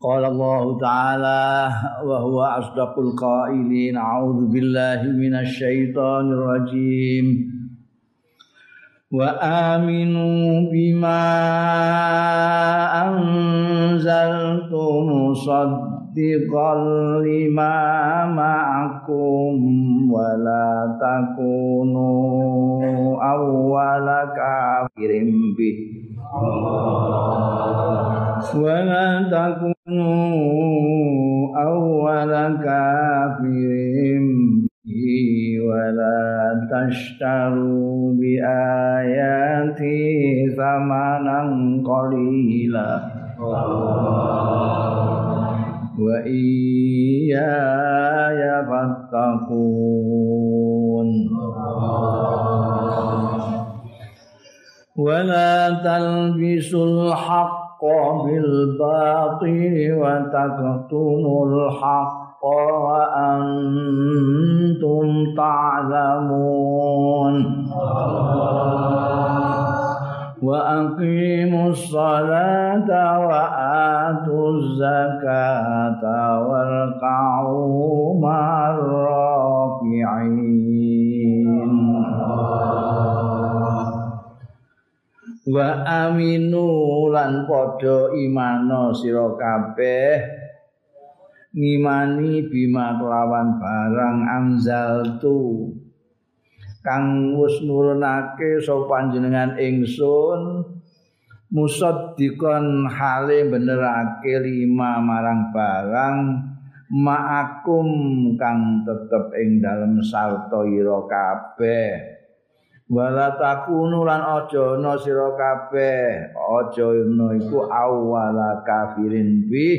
قال الله تعالى وهو أصدق القائلين أعوذ بالله من الشيطان الرجيم وآمنوا بما أنزلت مصدقا لما معكم ولا تكونوا أول كافر به ولا تكونوا أول كافر به ولا تشتروا بآياتي ثمنا قليلا وإياي فاتقون ولا تلبسوا الحق بالباطل وتكتموا الحق وأنتم تعلمون وأقيموا الصلاة وآتوا الزكاة واركعوا مع الراكعين wa aminu lan padha imano sira kabeh ngimani bima kelawan barang anzaltu kang wis nurunake sapa panjenengan ingsun musaddiqan hale benerake lima marang barang ma'akum kang tetep ing dalem sarta ira kabeh wala takunu lan aja ana sira kabeh aja ana iku awwala kafirin bi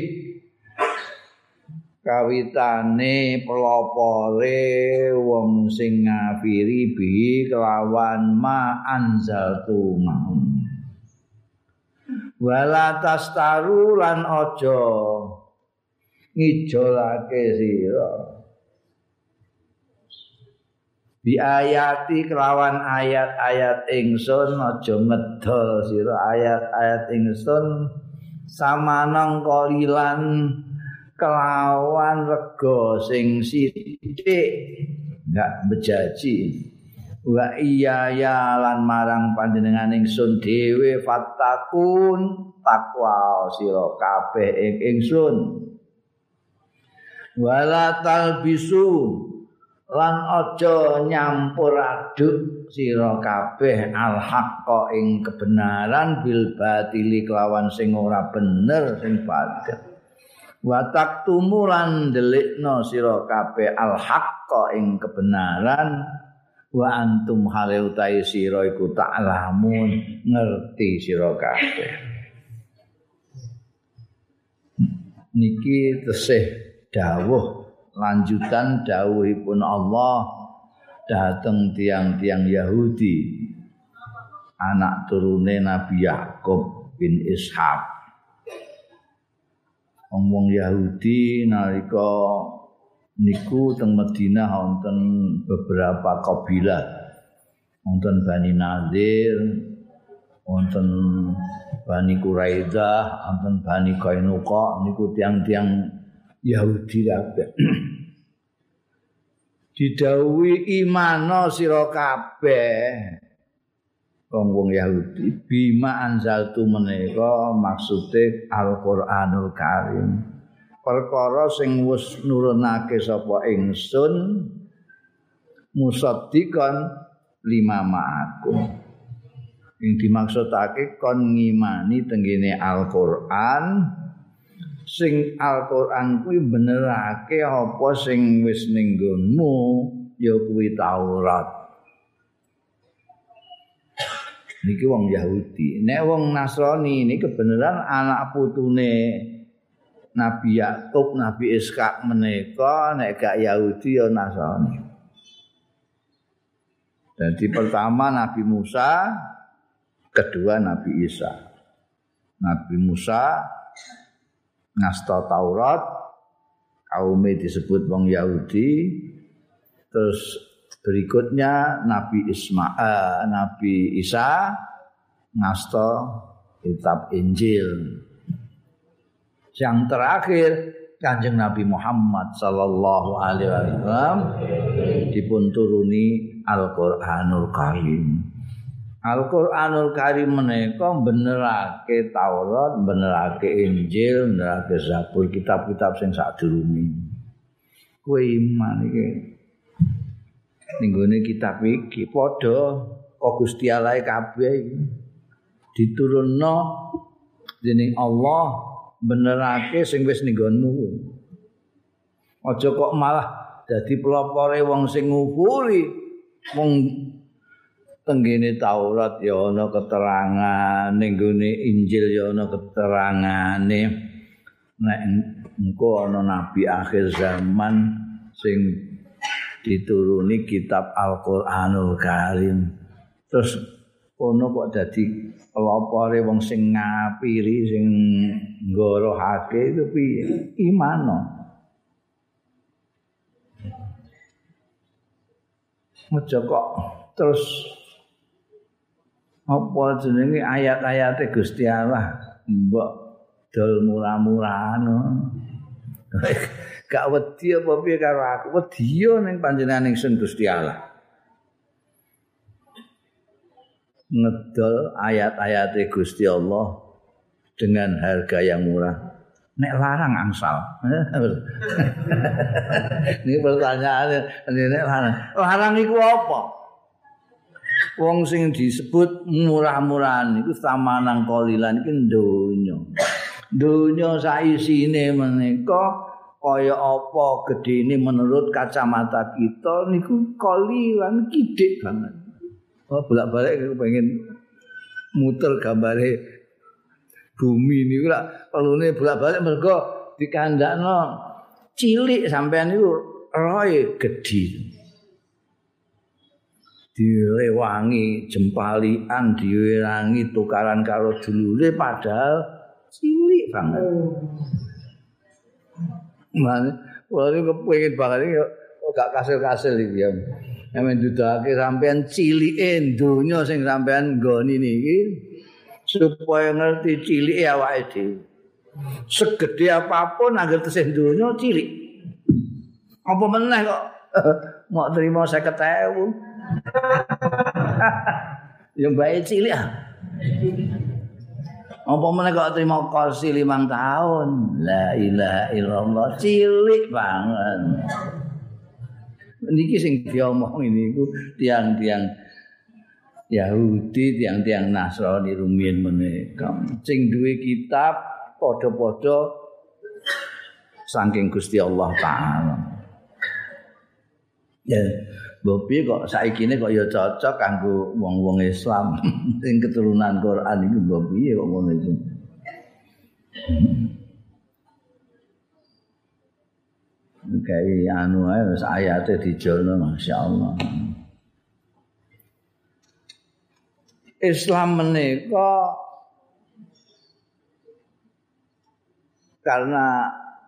kawitane pelopore wong sing ngafiri bi kelawan ma anzaltu maum wala tastaru lan aja ngijolake sira bi ayati kelawan ayat-ayat ingsun aja ngedol sira ayat-ayat ingsun samanang kalilan kelawan rega sing sithik enggak bejaji wa iya ya lan marang panjenengan ingsun dhewe fattakun takwa sira kabeh ing ingsun wala talbisu lan aja nyampur aduk sira kabeh al-haqqa ing kebenaran bil batili kelawan sing ora bener sing batil wa taktumu lan delikna sira kabeh al-haqqa ing kebenaran wa antum hale utahe sira iku ta'lamun ngerti sira kabeh niki tesih dawuh lanjutan dawuhipun Allah dateng tiang-tiang Yahudi anak turune Nabi Yakub bin Ishak wong Yahudi nalika niku teng Madinah wonten beberapa kabilah wonten Bani Nadir wonten Bani Quraidah wonten Bani Qainuqa niku tiang-tiang Yahudi kabeh didhawuhi imano sira kabeh wong Yahudi bima anzaltu menika maksude Al-Qur'anul Karim perkara sing wis nurunake sapa ingsun musaddiqan lima ma'akum ing dimaksudake kon ngimani tenggene Al-Qur'an sing Al-Qur'an kuwi benerake apa sing wis ning nggonmu ya kuwi Taurat. Niki wong Yahudi. Nek wong Nasrani niki kebenaran anak putune Nabi Yakub, Nabi Ishak menika nek gak Yahudi ya Nasrani. Jadi pertama Nabi Musa, kedua Nabi Isa. Nabi Musa ngasta Taurat, kaumnya disebut wong Yahudi. Terus berikutnya Nabi Isa ngasta kitab Injil. Yang terakhir Kanjeng Nabi Muhammad sallallahu alaihi wasallam dipun turuni Al-Qur'anul Karim. Al-Qur'anul Karim menika benerake Taurat, benerake Injil, benerake Zabur, kitab-kitab sing sadurunge. Kowe iman iki. Ning gone kitab iki padha kok Gusti Allah kabeh iki diturunno dening Allah benerake sing wis ning nggonmu. Aja kok malah dadi pelopore wong sing ngupuri wong tenggene Taurat ya ana keterangan, ning gone Injil ya ana keterangane. Nek engko ana nabi akhir zaman sing dituruni kitab Al-Qur'anul Karim. Terus ono kok dadi pelopore wong sing ngapiri sing nggorohake itu piye? Imano. Aja kok terus apa jenenge ayat-ayate Gusti Allah mbok dol murah-murahan. Gak wedi apa piye karo aku? Wedi yo ning panjenengan ingsun Gusti Allah. Ngedol ayat-ayate Gusti Allah dengan harga yang murah. Nek larang angsal. Ini pertanyaannya, nek larang. Larang iku apa? Wong sing disebut murah-murahan iku samanang kolilan iki donya. Donya saisine menika kaya apa gedene menurut kacamata kita niku kolilan kidik banget. Oh, bolak-balik pengen muter gambare bumi niku lak perlune bolak-balik mergo dikandakno cilik sampean niku roe gedhi. Direwangi jempalian, diwerangi tukaran karo dulure padahal cilik banget. Mane kula niku kepengin banget iki gak kasil-kasil iki ya. Nek ndudake sampean cilike donya sing sampean nggoni niki supaya ngerti cilike awake dhewe. Segede apapun anggere tesih donya cilik. Apa meneh kok mau terima 50.000. Ya bae cilik ah. Apa meneh kok terima kursi 5 tahun. La ilaha illallah cilik banget. Niki sing diomong niku tiang-tiang Yahudi, tiang-tiang Nasrani rumiyin menika. Sing duwe kitab padha-padha saking Gusti Allah taala. Ya, bopi kok saikine kok ya cocok kanggo wong-wong Islam sing keturunan Quran iki bopi kok ngono iki. Kayak anu ae wis ayate dijolno masyaallah. Islam menika karena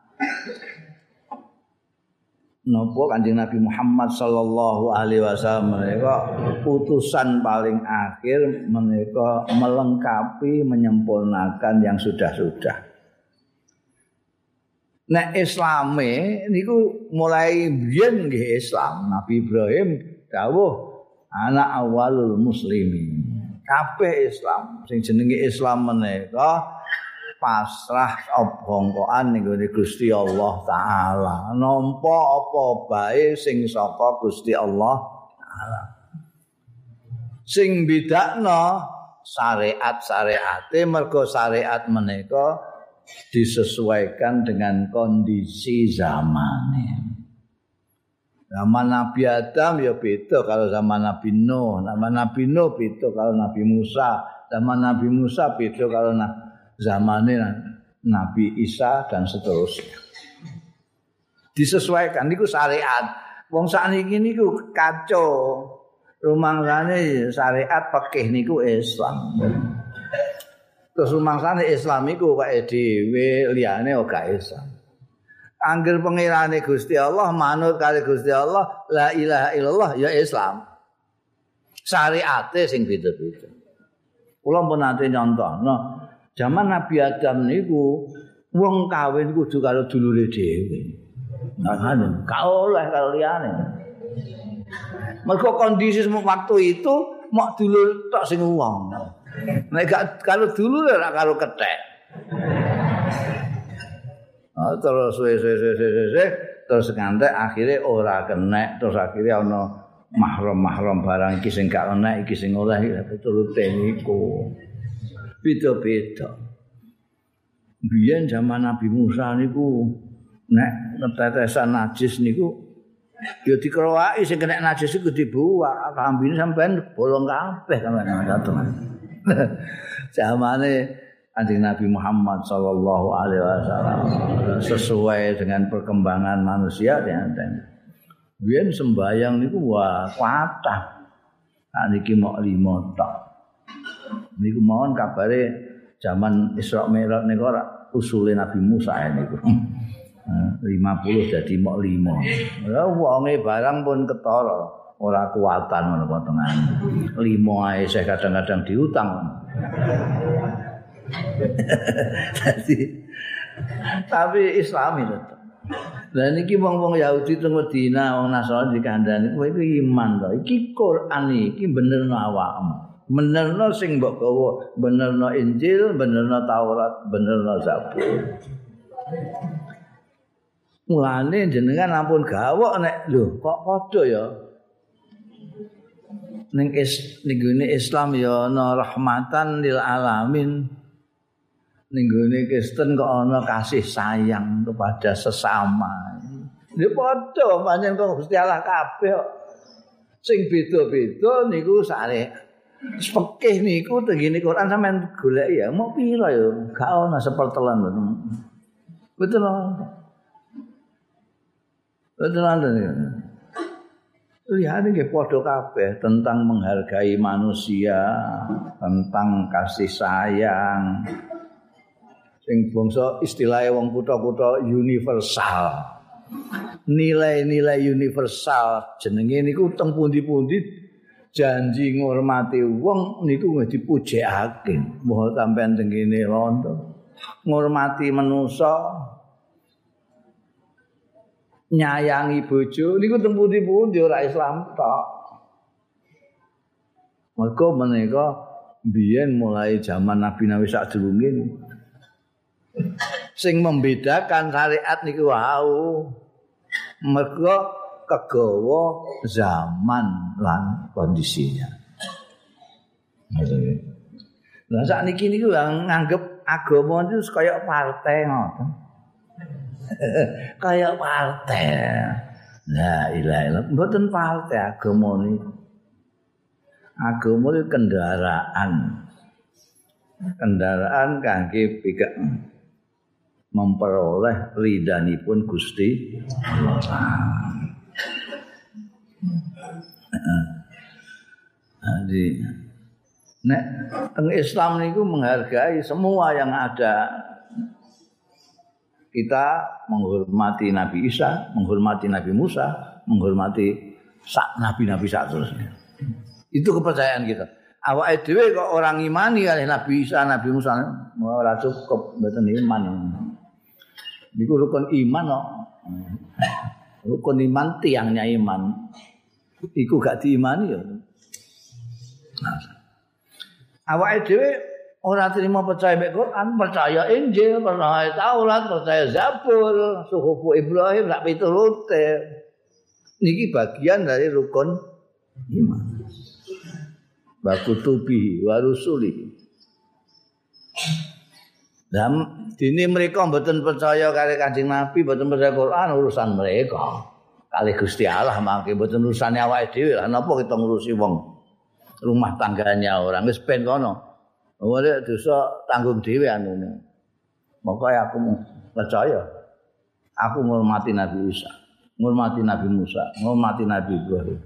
napa Kanjeng Nabi Muhammad sallallahu alaihi wasallam menika utusan paling akhir menika melengkapi menyempurnakan yang sudah-sudah. Nek Islame niku mulai biyen nggih Islam. Nabi Ibrahim dawuh anak awalul muslimin. Kabeh Islam sing jenenge Islam menika pasrah obongkoan ning Gusti Allah taala. Nampa apa bae sing saka Gusti Allah taala. Sing bedakno syariat-syariate mergo syariat menika disesuaikan dengan kondisi zamannya. Zaman Nabi Adam ya beda kalau zaman Nabi Nuh, zaman Nabi Nuh beda kalau Nabi Musa, zaman Nabi Musa beda kalau zamannya Nabi Isa dan seterusnya. Disesuaikan niku syariat. Wong sakniki niku kacau. Rumangsane syariat fikih niku Islam. Terus rumangsane Islam iku kaya dhewe liyane ora Islam. Angger pengirane Gusti Allah manut kali Gusti Allah la ilaha illallah ya Islam. Syariate sing beda-beda. Kula pun nate nyontohno, zaman Nabi Adam niku Wong kawin kudu karo dulure dhewe. Nah, gak oleh karo liyane. Mergo kondisi waktu itu mok dulur tok sing wong. Nek gak karo dulur ora karo kethek. Terus terus ngantek akhirnya ora kenek, terus akhirnya ana mahram-mahram barang iki sing gak enak, iki sing oleh piturute niku. Beda-beda. Biyen zaman Nabi Musa niku nek netetesan najis niku ya dikrowaki sing kena najis iku dibuak, kambine sampean bolong kabeh sampean. Zamane Kanjeng Nabi Muhammad sallallahu alaihi wasallam sesuai dengan perkembangan manusia ya. Biyen sembayang niku wah kathah. Niki mok 5 tok. Niku mawon kabare zaman Isra Mi'raj niku ora usule Nabi Musa niku. 50 dadi mok 5. Ya wonge barang pun ketara, ora kuatan ngono potongan. 5 ae saya kadang-kadang diutang. Tapi Islami tetep. Lah niki wong-wong Yahudi teng Madinah, wong Nasrani dikandani, kowe iki iman to. Iki Quran iki benerno awakmu. Benerno sing mbok gawa, benerno Injil, benerno Taurat, benerno Zabur. Mulane jenengan ampun gawok nek lho kok padha ya. Ning Islam ya ana rahmatan lil alamin. Ning gone Kristen kok ana kasih sayang kepada sesama. Ya padha pancen kok Gusti Allah kabeh kok. Sing beda-beda niku sare. Fikih niku tengene Quran sampean goleki ya mau pira ya gak ana sepertelan mboten. Betul. Lihat ini padha kabeh tentang menghargai manusia, tentang kasih sayang. Sing bangsa istilahnya wong kutha-kutha universal. Nilai-nilai universal jenenge niku teng pundi-pundi janji ngurmati wong niku dipujekake. Mbah sampean teng kene londo. Ngurmati manusa, nyayangi bojo niku teng pundi-pundi ora Islam tok. Mergo menika biyen mulai zaman Nabi sadurunge sing membedakan syariat niku wau mergo kegawa zaman lan kondisinya. Lah sakniki niku nganggep agama itu kaya partai ngoten. Kayak partai. La ilaha illallah. Mboten partai agama niku. Agama itu kendaraan. Kendaraan kangge pika memperoleh ridhanipun Gusti Allah. Jadi nek teng Islam niku menghargai semua yang ada. Kita menghormati Nabi Isa, menghormati Nabi Musa, menghormati nabi-nabi seterusnya. Itu kepercayaan kita. Awake dhewe kok orang imani kali Nabi Isa, Nabi Musa ora cukup mboten iman. Niku rukun iman kok. Rukun iman tiangnya iman. Iku gak diimani ya. Awake dhewe ora terima percaya mek Quran, percaya Injil, percaya Taurat, percaya Zabur, suhufu Ibrahim rak piturute. Niki bagian dari rukun iman. Wa kutubi wa rusuli. Dan dini mereka mboten percaya kali Kanjeng Nabi, mboten percaya Quran, urusan mereka. Kali Gusti Allah mangke mboten urusane awake dhewe. Lah napa kita ngurusi wong rumah tangganya orang wis ben kono. Ora dosa tanggung dhewe anune. Maka aku percaya. Aku ngurmati Nabi Isa, ngurmati Nabi Musa, ngurmati Nabi Ibrahim.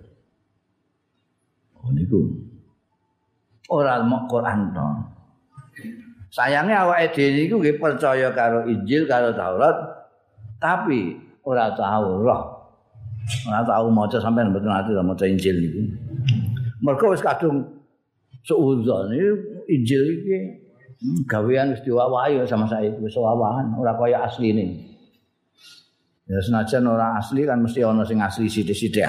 Oh niku. Ora mok Quran to. Sayange awake dhewe niku nggih percaya karo Injil, karo Taurat, tapi ora tahu roh. Ora tahu maca sampean mboten ati maca Injil niku. Mergo wis kadung suudzon Injil iki Gawean wis diwawahi sama saya wis wawahan ora kaya asline. Ya senajan ora asli kan mesti ana sing asli sithik-sithik.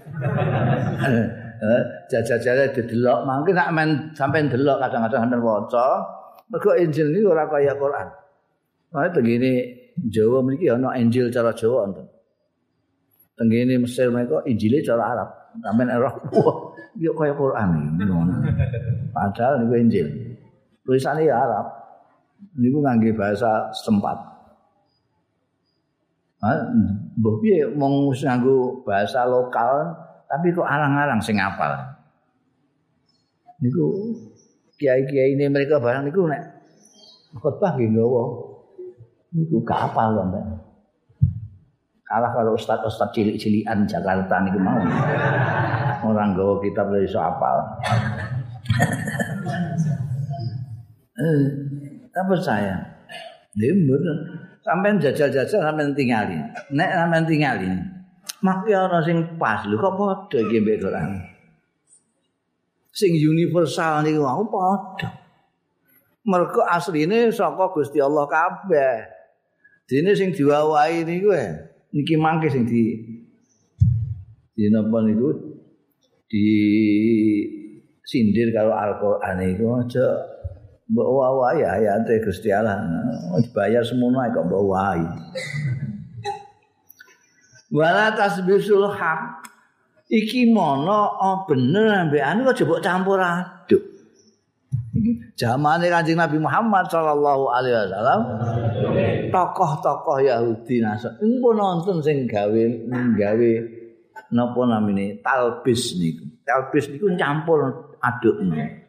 Jajal-jajal didelok mangke nek men sampean delok kadang-kadang sampean waca mergo Injil niku ora kaya Quran. Wae tengene Jawa mriki ana Injil cara Jawa wonten. Tengene Mesir mereka Injile cara Arab. Sampeyan ora wah iki kaya Quran iki. Padahal niku Injil. Tulisane ya Arab. Niku ngangge bahasa setempat. Mbah piye mung nganggo bahasa lokal tapi kok arang-arang sing apal. Niku kiai-kiai ini mereka barang niku nek khotbah nggih nggawa. Niku gak apal sampeyan. Kalah kalau ustaz-ustaz cilik-cilikan Jakarta niku mau. Orang nggawa kitab lha iso apal. Tak percaya. Lembur sampean jajal-jajal sampean tingali. Nek sampean tingali, mak ya ana sing pas lho kok padha iki mbek Quran. Sing universal niku mau padha. Mergo asline saka Gusti Allah kabeh. Dene sing diwawahi niku niki mangke sing di napa niku di sindir kalau Al-Qur'an iku aja mbok wawahi ayate Gusti Allah. Dibayar semono ae kok mbok wawahi. Wala tasbisul haq. Iki mono bener ambek anu aja mbok campur aduk. Iki zamane Kanjeng Nabi Muhammad sallallahu alaihi wasallam. Tokoh-tokoh Yahudi Nasrani pun nonton sing gawe napa namine talbis niku. Talbis niku campur adukne.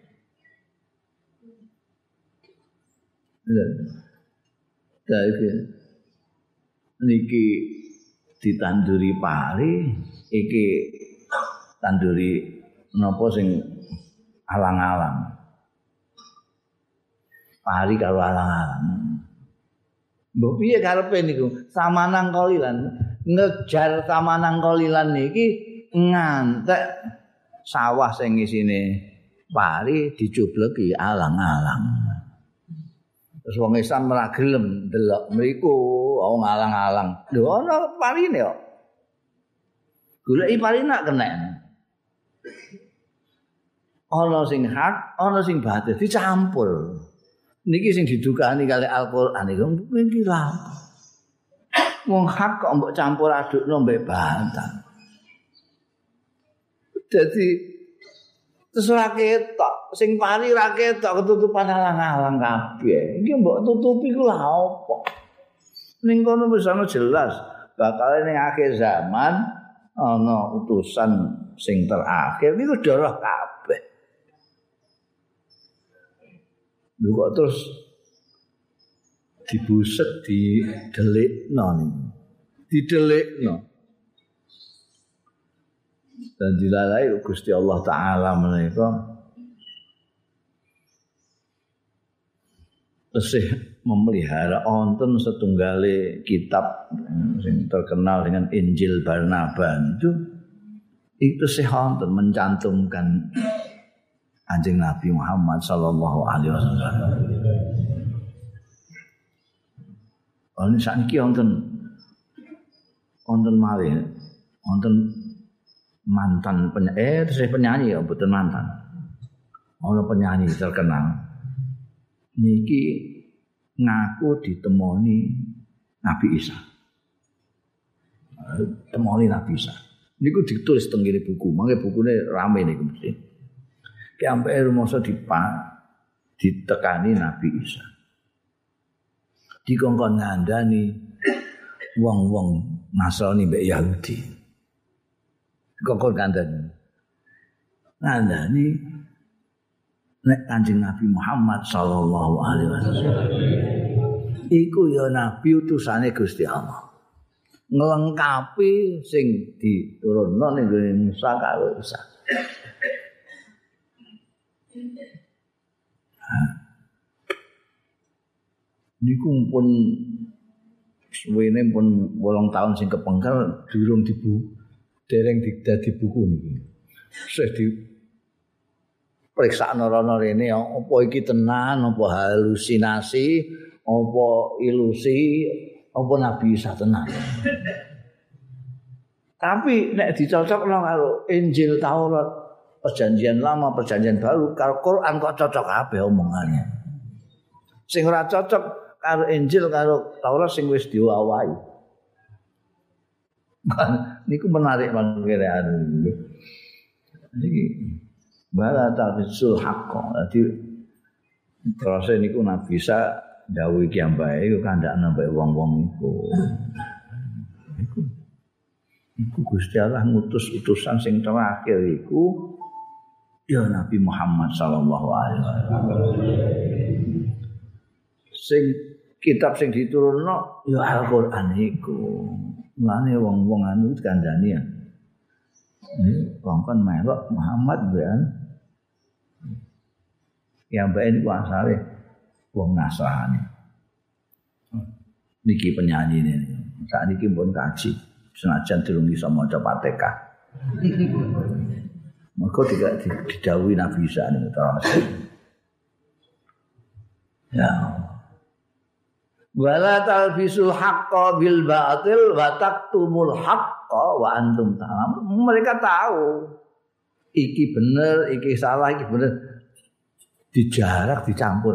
Niki ditanduri pari, iki tanduri napa sing alang-alang. Pari karo alang-alang. Mbok piye karepe niku? Samanang kolilan, ngejar samanang kolilan niki ngantek sawah sing isine pari dicubleki alang-alang. Terus wong Islam ora gelem delok mriku wong alang-alang. Lho ana parine kok. Goleki parine nak kenek. Ana sing hak, ana sing batil dicampur. Niki sing didukani kali Al-Qur'an iku iki lha. Wong hak kok mbok campur adukno mbek batil. Dadi terus ra ketok, sing pari ra ketok ketutupan alang-alang kabeh. Iki mbok tutupi ku lha apa? Ning kono wis ana jelas bakal ning akhir zaman ana utusan sing terakhir niku darah kabeh. Lho kok terus dibuset didelikno niku. Didelikno. Dan dilalai Gusti Allah Ta'ala menika tesih memelihara wonten setunggale kitab sing terkenal dengan Injil Barnabas itu tesih wonten mencantumkan Kanjeng Nabi Muhammad sallallahu alaihi wasallam. Ana sakniki wonten malih wonten mantan penyanyi ya mboten mantan. Ana penyanyi terkenal. Niki ngaku ditemoni Nabi Isa. Temoni Nabi Isa. Niku ditulis teng ngene buku, mangke bukune rame niku mesti. Ki ampe rumangsa ditekani Nabi Isa. Dikongkon ngandani wong-wong Nasrani mbek Yahudi. Kokon ngandani nek Kanjeng Nabi Muhammad sallallahu alaihi wasallam iku ya nabi utusane Gusti Allah nglengkapi sing diturunno ning Musa karo Isa. Niku pun suwene pun 8 tahun sing kepengker durung dereng dadi buku niki. Sing periksa rono rene apa iki tenan apa halusinasi apa ilusi apa Nabi Isa tenan. Tapi nek dicocokno karo Injil Taurat perjanjian lama perjanjian baru karo Quran kok cocok kabeh omongane. Sing ora cocok karo Injil karo Taurat sing wis diwawahi. Niku menarik mangkene niki. Bala tabisul haqq. Dadi terus niku Nabi Isa dawuh iki ambae iku kandhakne mbek wong-wong iku. Iku Gusti Allah ngutus utusan sing terakhir iku ya Nabi Muhammad sallallahu alaihi wasallam. Sing kitab sing diturunno ya Al-Qur'an iku. Mulane wong-wong anu kandhani ya. Kongkon melok Muhammad ben. Ya mbak niku asale wong Nasrani. Niki penyanyi ini. Saat niki pun kaji. Senajan durung iso maca Fatihah. Maka tidak didhawuhi Nabi Isa niku terus. Ya. Wala talbisul haqqo bil batil wa taktumul haqqo wa antum ta'lamun. Mereka tahu iki bener, iki salah, iki bener. Dijarak dicampur.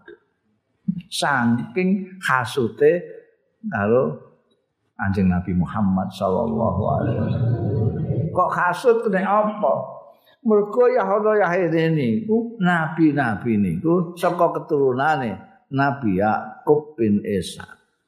Saking hasute karo Kanjeng Nabi Muhammad sallallahu alaihi wasallam. Kok hasud nek apa? Mergo Yahuda Yahudi niku nabi-nabi niku saka keturunane Nabi Yakub bin Isa.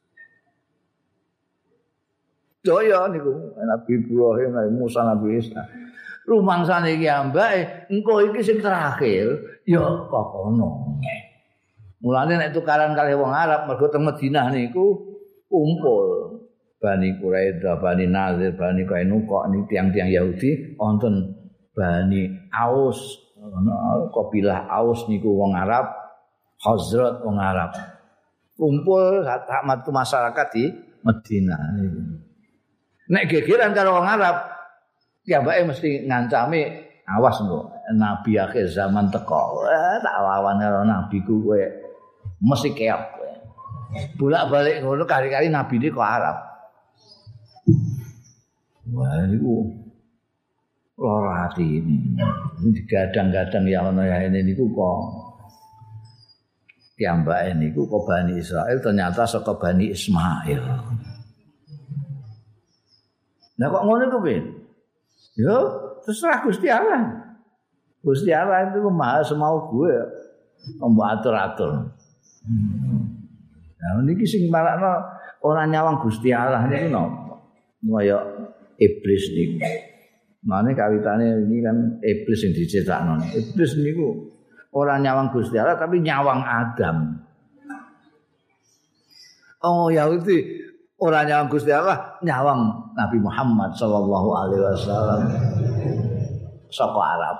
Daya niku Nabi Ibrahim, Nabi Musa, Nabi Isa. Rumangsane iki ambake engko iki sing terakhir ya kok ngono. Mulane nek tukaran kali wong Arab mergo teng Madinah niku kumpul Bani Quraidah, Bani Nazir, Bani Qainuqa niki tiang-tiang Yahudi wonten Bani Aus, kabilah Aus niku wong Arab, Khazraj wong Arab. Kumpul sak masyarakat di Madinah niku. Nek gegeran karo wong Arab, piyambake mesti ngancami awas engko nabi akhir zaman teko. Tak lawan karo nabiku kowe mesti keok kowe. Bolak-balik ngono kali-kali nabi iki kok Arab. Wah niku lara ati ini. Digadang-gadang ya ana ya ini niku kok piyambake niku kok Bani Israil ternyata saka Bani Ismail. Nah kok ngono ku piye? Yo terserah Gusti Allah. Gusti Allah itu maha semau gue mbok atur-atur. Nah niki sing marakno ora nyawang Gusti Allah niku napa? Kaya iblis niku. Mane kawitane ini kan iblis sing dicetakno. Iblis niku ora nyawang Gusti Allah tapi nyawang Adam. Oh Yahudi ora nyawang Gusti Allah, nyawang Nabi Muhammad sallallahu alaihi wasallam saka Arab.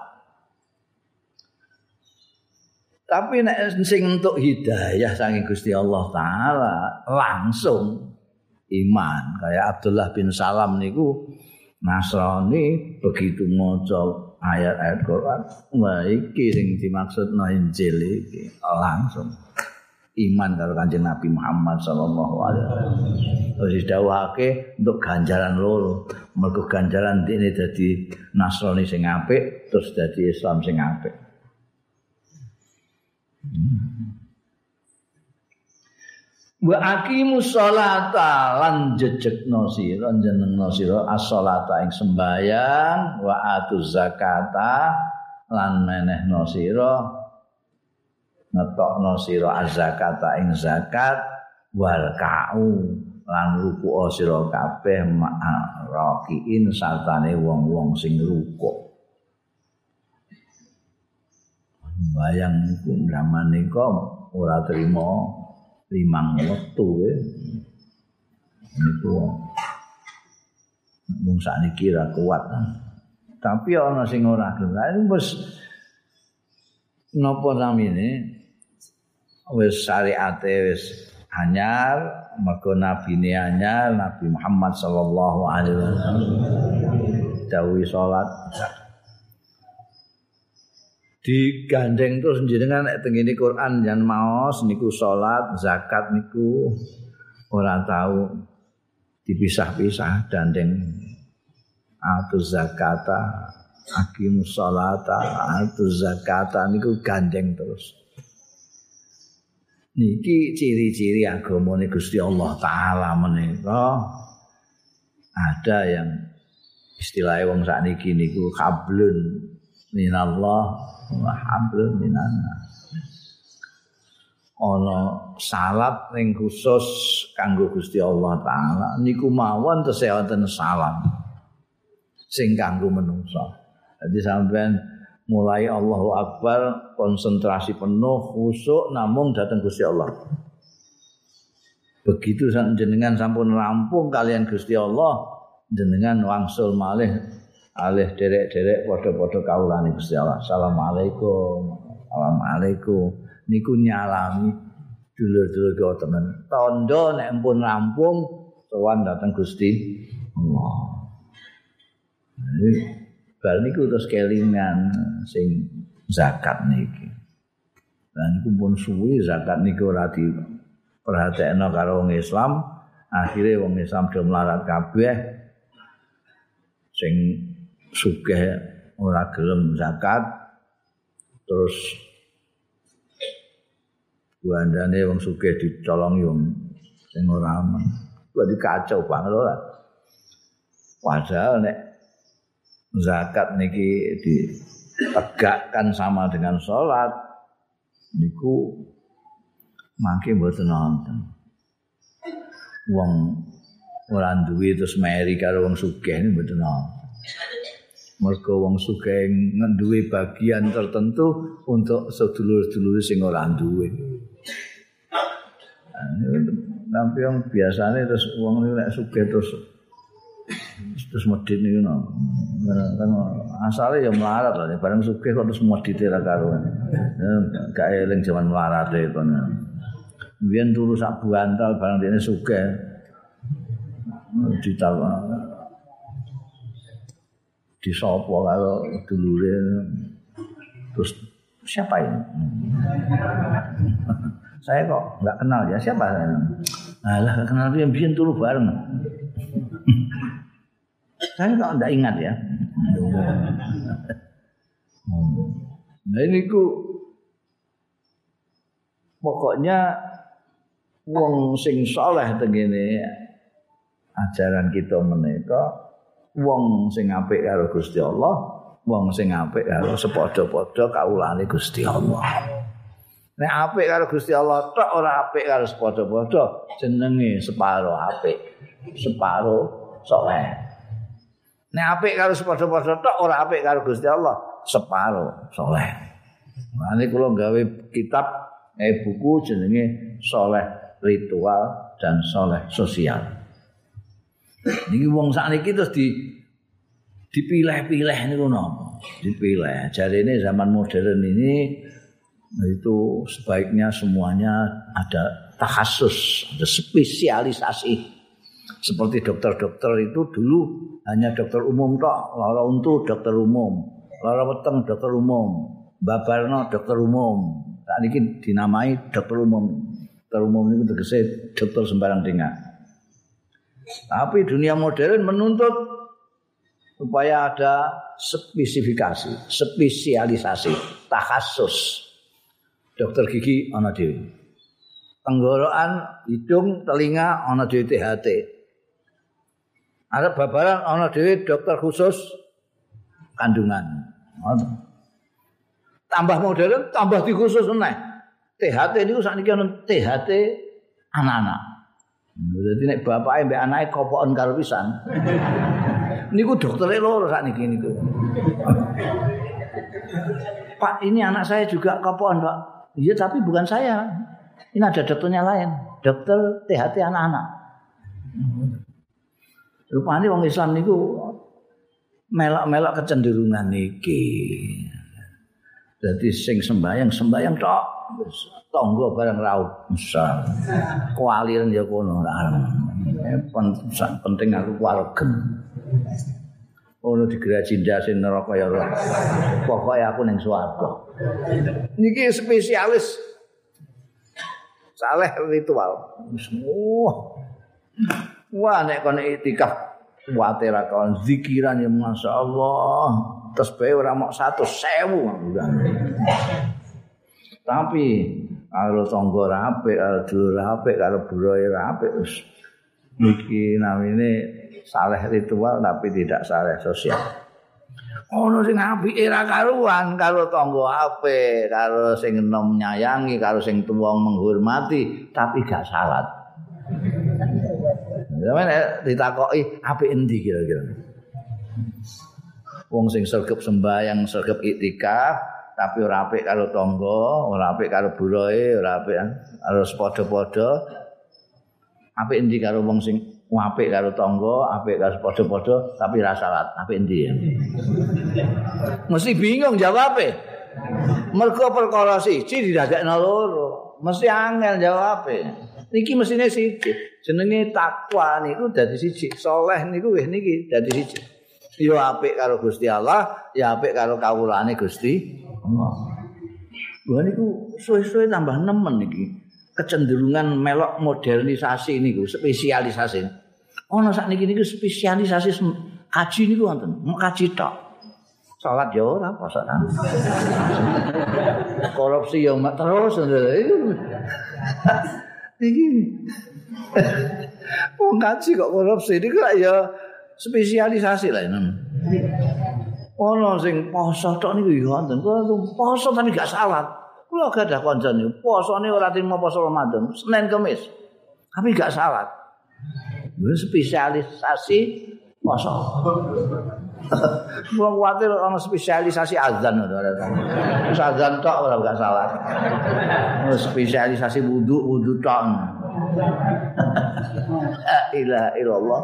Tapi nek sing entuk hidayah saking Gusti Allah taala langsung iman. Kayak Abdullah bin Salam niku Nasrani begitu maca ayat-ayat Quran, wah iki sing dimaksudno Injil iki langsung iman karo Kanjeng Nabi Muhammad sallallahu alaihi wasallam. Terus didhawuhake untuk ganjaran loro. Mergo ganjaran dene dadi Nasrani sing apik, terus dadi Islam sing apik. Wa aqimus sholata lan jejegno sira njenengno sira as-sholata ing sembayang wa atuz zakata lan menehno sira ngetokno sira az-zakata ing zakat wal ka'u lan ruku' sira kabeh ma'rakiin sartane wong-wong sing ruku'. Bayang iku zaman nika ora trima limang wektu niku mung sakniki ra kuat. Tapi ana sing ora gelem wis napa namine wis syariate wis anyar mergo nabine anyar Nabi Muhammad sallallahu alaihi wasallam dawuh salat digandeng terus jenengan nek teng ngene Quran jan maos niku salat, zakat niku ora tahu dipisah-pisah dandeng atuz zakata, aqimus sholata, atuz zakata niku gandeng terus. Niki ciri-ciri agamane Gusti Allah taala menika ada yang istilahnya wong sakniki niku hablun minallah wa hablum minannas. Ana salat ning khusus kanggo Gusti Allah taala niku mawon tesih wonten salam sing kanggo menungso. Dadi sampean mulai Allahu Akbar konsentrasi penuh khusyuk namung dhateng Gusti Allah. Begitu jenengan sampun rampung kalian Gusti Allah, jenengan wangsul malih alih derek-derek padha-padha kawulane Gusti Allah. Assalamualaikum. Assalamualaikum. Niku nyalami dulur-dulur kula temen. Tandha nek ampun rampung sowan dhateng Gusti Allah. Bal niku terus kelingan sing zakat niki. Lah niku pun suwi zakat niku ora diperhatekno karo wong Islam, akhire wong Islam do melarat kabeh sing sugih ora gelem zakat terus bandane wong sugih dicolongi wong sing ora aman. Dadi kacau banget ora. Padahal nek zakat niki ditegakkan sama dengan salat niku mangke mboten wonten. Wong ora duwe terus meri karo wong sugih niku mboten wonten. Mergo wong sugih nduwe bagian tertentu untuk sedulur-sedulur sing ora duwe. Tapi yang biasanya terus wong niku nek sugih terus medhit niku no. Kan asale ya melarat lho, bareng sugih kok terus medhite ra karuan. Gak eling jaman melarate kono. Biyen turu sak bantal bareng dene sugih. Ditawar disopo kalau dulure terus siapa ini? Saya kok nggak kenal ya siapa? Alah kenal dia biyen turu bareng. Saya kok nggak ingat ya. Nah ini ku pokoknya wong sing saleh tengene ajaran kita menika wong sing apik karo Gusti Allah, wong sing apik karo sepadha-padha kawulane Gusti Allah. Nek apik karo Gusti Allah tok ora apik karo sepadha-padha, jenenge separo apik, separo saleh. Nek apik karo sepadha-padha tok ora apik karo Gusti Allah, separo saleh. Mane kula gawe kitab buku jenenge Saleh Ritual dan Saleh Sosial. Niki wong sakniki terus dipilih-pilih niku napa? Dipilih. Jarene zaman modern ini itu sebaiknya semuanya ada takhasus, ada spesialisasi. Seperti dokter-dokter itu dulu hanya dokter umum tok, lara untu dokter umum, lara weteng dokter umum, babarno dokter umum. Sakniki dinamai dokter umum. Dokter umum niku tegese dokter sembarang tinggal. Tapi dunia modern menuntut supaya ada spesifikasi, spesialisasi, takhasus. Dokter gigi ana dhewe. Tenggorokan, hidung, telinga ana dhewe THT. Ada babaran ana dhewe dokter khusus kandungan. Tambah modern, tambah dikhusus meneh. THT niku sakniki ana THT anak-anak. Jadi nek bapake mbek anake kopoken karo pisan. Niku doktere loro sakniki niku. Pak, ini anak saya juga kopoken, Pak. Iya, tapi bukan saya. Ini ada dokternya lain. Dokter THT anak-anak. Rupane wong Islam niku melok-melok kecenderungan niki. Jadi sing sembayang tok. Tonggo bareng raut besar. Kualiran ya kono penting aku kualgen. ono digraji ndase neraka ya Allah. Pokoke aku ning swarga. Niki spesialis saleh ritual. Wah nek kon iktikaf kuwate ra kon zikiran ya masyaallah. Tasbih ora mok 100.000. Tapi karo tangga apik, karo dulur apik, karo buroe apik wis niki namine saleh ritual tapi tidak saleh sosial. Ono sing apike ra karuan karo tangga apik, karo sing enom nyayangi, karo sing tuwa menghormati tapi gak salat. Sampeyan ditakoki apik endi kira-kira? Wong sing sregep sembahyang, sregep iktikaf tapi ora apik karo tangga, ora apik karo buroe, ora apik karo padha-padha. Apik endi karo wong sing apik karo tangga, apik karo padha-padha tapi ra salat. Apik endi ya? Mesti bingung jawabe. Mergo perkara siji didadekno loro. Mesti angel jawabe. Niki mesine siji. Jenenge takwa niku dadi siji. Saleh niku wis niki dadi siji. Ya apik karo Gusti Allah, ya apik karo kawulane Gusti Allah. Lha niku suwe-suwe tambah nemen iki. Kecenderungan melok modernisasi niku, spesialisasi. Ana sakniki niku spesialisasi kaji niku wonten, mau kaji tok. Salat ya ora poso ta. Korupsi ya terus iki. Wong kaji kok korupsi niku ya spesialisasi lah ini. Ono sing poso tok niku ya wonten. Poso tapi gak salat. Kula gadah kanca niku posone ora trimo poso Ramadan, Senin Kamis. Tapi gak salat. Wis spesialisasi poso. Wong kuwatir ana spesialisasi azan ora. Wis azan tok ora gak salat. Spesialisasi wudu tok. La ilaha illallah.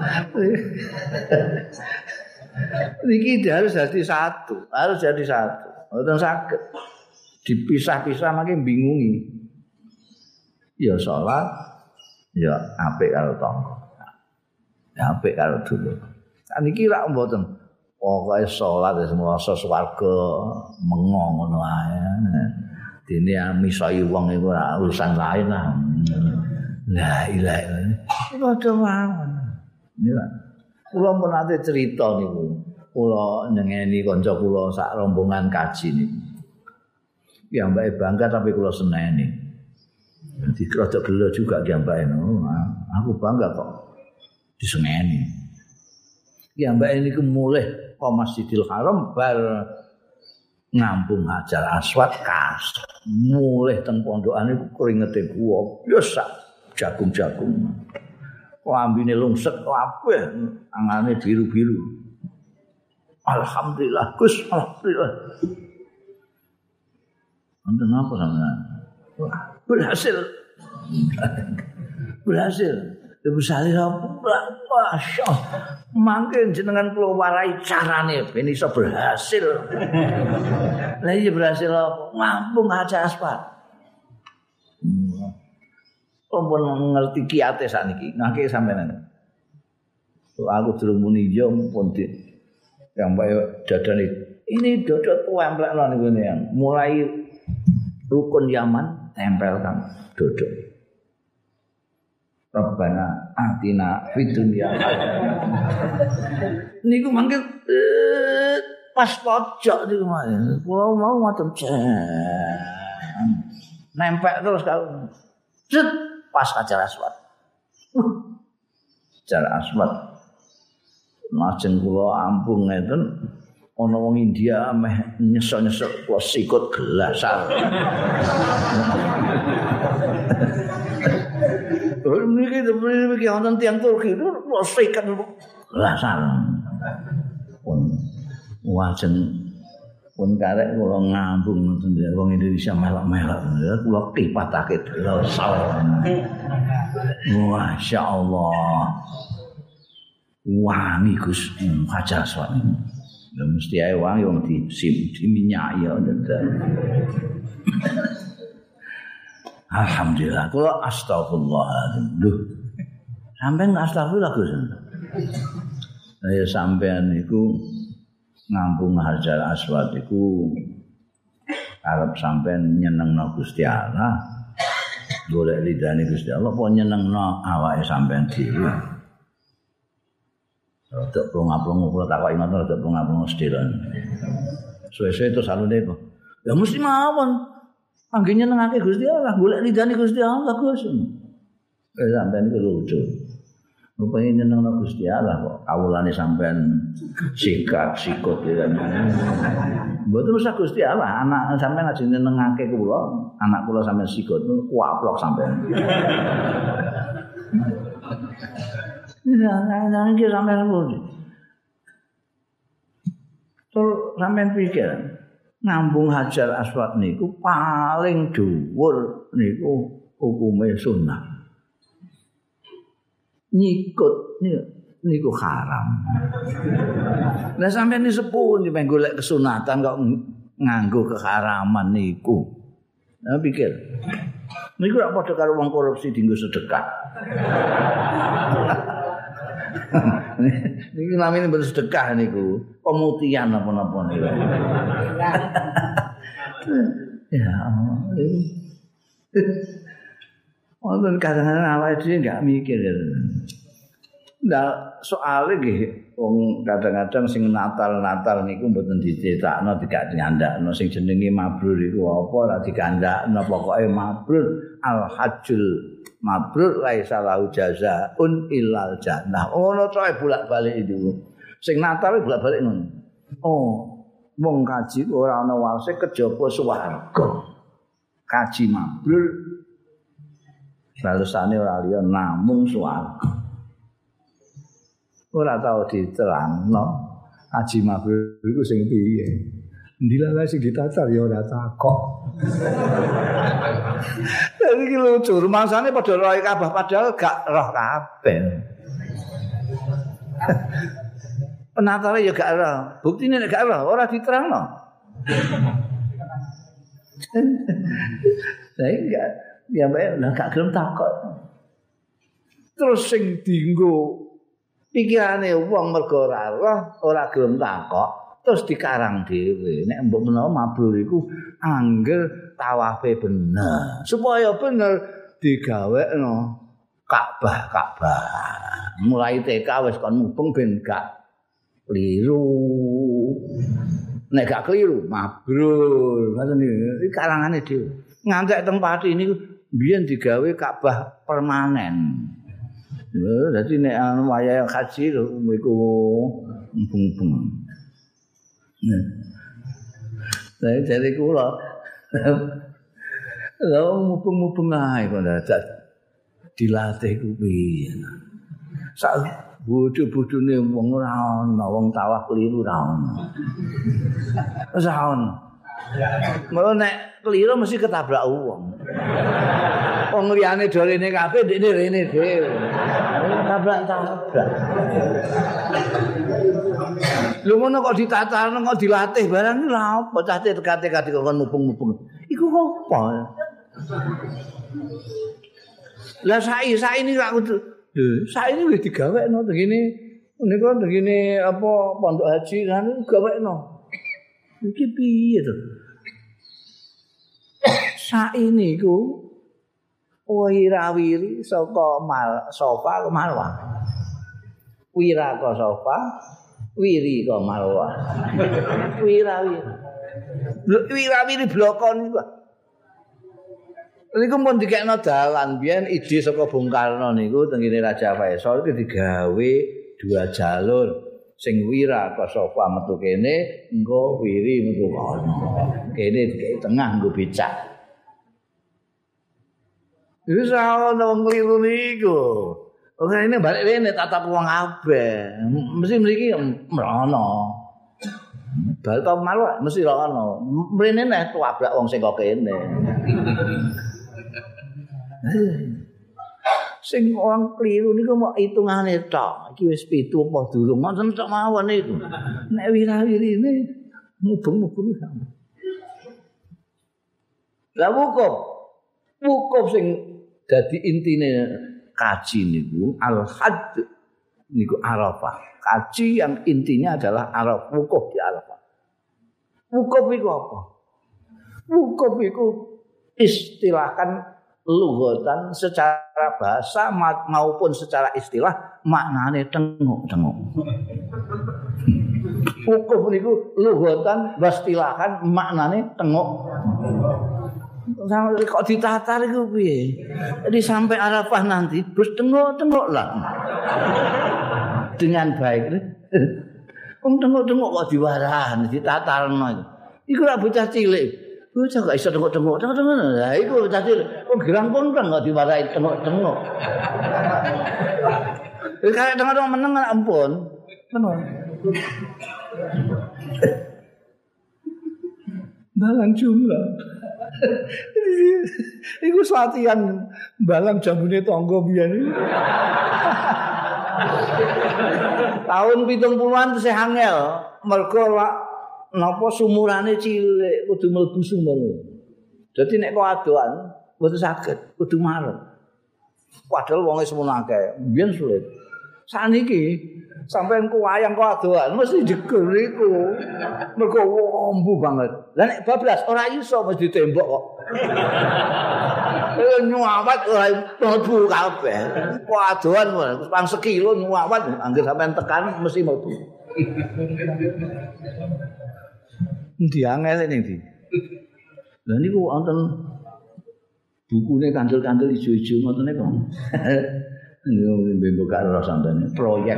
Niki harus jadi satu, harus jadi satu. Mboten saged dipisah-pisah makin bingungi. Ya salat, ya apik karo tangga. Ya apik karo dulur. Niki lak mboten pokoke salat wis mrasa swarga mengo ngono ae. Dene misai wong iku ora urusan lain lah. La ilaha illallah. Padha mawon. Nila. Kula pun ate cerita niku. Kula nyengeni kanca kula sak rombongan kaji niku. Ya mbake bangga tapi kula seneni. Dadi rada gelo juga ki mbake. Aku bangga kok diseneni. Ya mbake niku mulih ke Masjidil Haram bar ngampung Hajar Aswad kas. Mulih teng pondokan niku keringete gua biasa jagung-jagung. Lambine lungset kabeh, angane biru-biru. Alhamdulillah Gus, alhamdulillah. Wonten apa sampeyan? Berhasil. Berhasil. Berhasil apa? Masya Allah. Mangke jenengan kula warai carane ben iso berhasil. Lah iya berhasil apa? Ngampung Hajar Aswad. Pun ngerti kiate sakniki. Nggih sampeyan. Aku durung muni yo pun yang bae dadane ini dodot templekno niku yang mulai rukun Yaman tempelkan dodot. Rabbana atina fid dunya niku mangke pas pojok niku kula mau ngoten nempel terus kalau cet pas Hajar Aswad. Hajar Aswad Majeng kula ampung ngeten ana wong India meh nyesok-nyesok kula sikut gelasan. Niki wonten tiyang Turki kula sikut gelasan. Wajeng pun karek kula ngambung ngoten wong Indonesia melok-melok kula kipatake gelasan. Masyaallah. Wangi Gus Hajar Aswad. Ya mesti ae wangi wong diminyaki ya. Alhamdulillah. Kula astagfirullah. Lho. Sampeyan astagfirullah Gus. Ya sampean iku ngampung Hajar Aswad iku arep sampean nyenengno Gusti Allah. Golek ridane Gusti Allah apa nyenengno awake sampean dhewe. Rada plong-plong kula takoki ngono rada plong-plong sedherek. Suwe-suwe terus alune kok. Ya mesti mawon. Angge nyenengake Gusti Allah, golek ridane Gusti Allah Gus. Sampean iku lucu. Rupane nyenengno Gusti Allah kok kawulane sampean sikut ya. Mboten usah Gusti Allah, anak sampean aja nyenengake kula, anak kula sampean sikut kuaplok sampean. Nah, iki sampean ngono. Terus sampean pikir ngambung Hajar Aswad niku paling dhuwur niku hukume sunnah. Nyikut niku haram. Lah sampeyan iki sepuh nyampe golek kesunatan kok nganggo keharaman niku. Nah pikir. Niku ora padha karo wong korupsi dienggo sedekah. Niku namine bersedekah niku, pemutihan apa-apa niku. Ya Allah. Wonten kadang-kadang awake dhewe enggak mikir. Nah, soalnya nggih wong kadang-kadang sing Natal niku mboten dicetakno tidak diandakno sing jenenge mabrur iku apa ora digandakno pokoke mabrur al hajjul mabrur laisa lahu jazaa'un illal jannah. Ono coe bolak-balik itu. Sing Natal bolak-balik ngono. Oh, wong kaji ora ana wase kejaba swarga. Kaji mabrur balusane ora liya namung swarga. Ora tau diterangno haji mabrur iku sing piye. Ndilalah sing ditacar ya ora takok. Dadi iki lucu, rumangsane padha roh kabeh padahal gak roh kabeh. Penatare ya gak roh, buktine nek gak roh ora diterangno. Saya enggak ya mbak gak gelem takok. Terus sing dienggo pikirane wong mergo ora roh, ora gelem takok, terus dikarang dhewe. Nek mbok menawa mabrur iku angger tawafe bener. Supaya bener digawekno Ka'bah. Mulai TK wis kon mubeng ben gak kliru. Nek gak kliru mabrur. Ngoten iki karangane dhewe. Ngantek teng Pati niku biyen digawe Ka'bah permanen. Jadi nek anu wayah haji lho iku mubeng-mubeng. Saya jadi kula. Lha mubeng-mubeng ae kok dadak dilatih ku piye. Sak bodho-bodhone wong ora ana, wong tawaf keliru ora ana. Wis ana. Mau nek keliru mesti ketabrak wong. Wong liyane do rene kabeh ndekne rene dhewe. Tabrak-tabrak. Lho ngono kok ditatarno kok dilatih barang lha apa cah tekate-kate kok mubeng-mubeng. Iku apa? Lah saiki niku aku lho saiki wis digawekno tengene niku tengene apa pondok haji kan digawekno. Iki piye to? Saiki niku wirawiri saka sofa ke Marwah. Wira ke sofa, wiri ke Marwah. Wirawiri blokon niku. Niku pun dikekno dalan biyen ide saka Bung Karno niku tengene Raja Faisal iki digawe 2 jalur. Sing wira ke sofa metu kene, engko wiri metu kono. Kene dikek tengah nggo becak. Wis ana wong kliru niku. Oke ini balik rene tatap wong kabeh. Mesti mriki mrono. Bal to malu mesti ora ana. Mrene nek tuabrak wong sing kok kene. Sing wong kliru niku mok hitungane tok. Iki wis 7 apa durung. Ngoten tok mawon niku. Nek wirawirine mubeng-mubeng sampe. Lah wukuf sing dadi intine kaji niku al-hadd niku Arafah. Kaji yang intinya adalah Arafah, wukuf di Arafah. Wukuf iku apa? Wukuf iku istilahkan lughatan secara bahasa maupun secara istilah maknane tengok-tengok. Wukuf niku lughatan istilahan maknane tengok. Sampai kok ditatar iku piye? Jadi sampai Arafah nanti terus tengok-tengoklah. Dengan baik. Wong tengok-tengok kok diwarahan, ditatarno. Iku ora bocah cilik. Bocah gak iso tengok-tengok. Lah iku bocah cilik. Wong gerang-gerang kok diwarahi tengok-tengok. Kayak tengok-tengok meneng ampun. Meneng. Balang jumlah. Iku latihan balang jambune tangga biyen. Tahun 70-an tesih angel, mergo napa sumurane cilik kudu mlebu sumur. Dadi nek kok adoan mboten saged, kudu marep. Padahal wong wis semono akeh, biyen sulit. Saniki sampeyan ku wayang kok adoan mesti jeger iku. Mergo wombu banget. Lah nek bablas ora iso mesti ditembok kok. Nyuwat ora mlebu kabeh. Kok adoan pang sekilo nyuwat anggere sampeyan tekan mesti mlebu. Endi angel ning ndi? Lah niku wonten bukune kandel-kandel ijo-ijo ngoten niku. Mbok gak ora sampeyan proyek.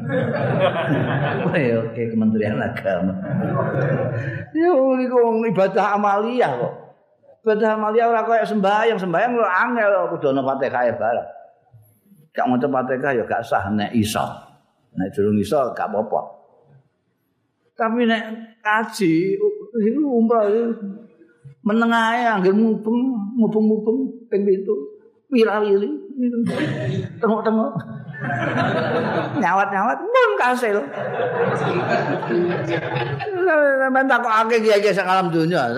Oke Kementerian Agama. Yo niku ibadah amaliyah kok. Ibadah amaliyah ora koyo sembahyang ora angel kudu ana Fatihah bareng. Gak maca Fatihah ya gak sah nek iso. Nek durung iso gak apa-apa. Tapi nek kaji iku umrah meneng ae anggere mubeng ping 7 wirawili tengok-tengok nyawat-nyawat pun kasil. Sampeyan takokake kiye-kiye sak alam donya